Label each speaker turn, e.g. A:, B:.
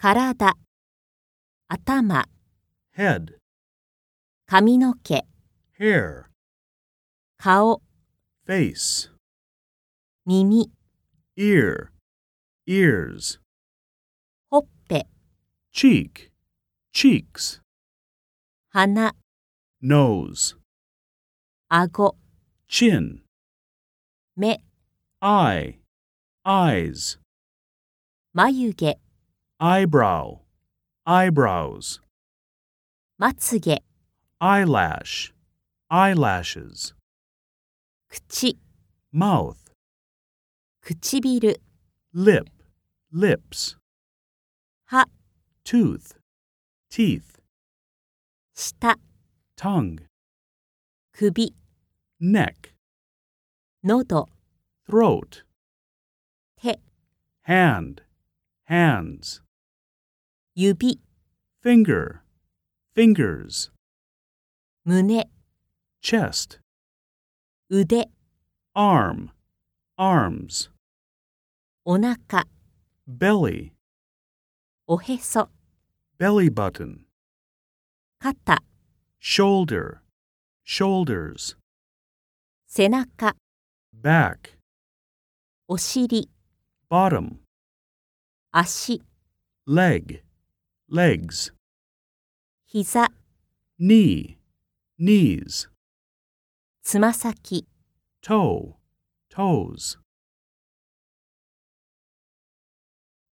A: 体、頭、
B: head,
A: 髪の毛、
B: hair,
A: 顔、
B: face,
A: 耳、
B: ear, ears,
A: ほっぺ、
B: cheek, cheeks,
A: 鼻、
B: nose,
A: 顎、
B: chin,
A: 目、
B: eye, eyes,
A: 眉毛、
B: eyebrow, eyebrows,
A: まつげ、
B: eyelash, eyelashes,
A: 口、
B: mouth,
A: 唇、
B: lip, lips,
A: 歯、
B: tooth, teeth,
A: 舌、
B: tongue,
A: 首、
B: neck,
A: 喉、
B: throat,
A: 手、
B: hand, hands,
A: 指、
B: finger, fingers,
A: 胸、
B: chest,
A: 腕、
B: arm, arms,
A: お腹、
B: belly,
A: おへそ、
B: belly button,
A: 肩、
B: shoulder, shoulders,
A: 背中、
B: back,
A: お尻、
B: bottom,
A: 足、
B: leg, legs,
A: 膝、
B: knee, knees,
A: つま先、
B: toe, toes.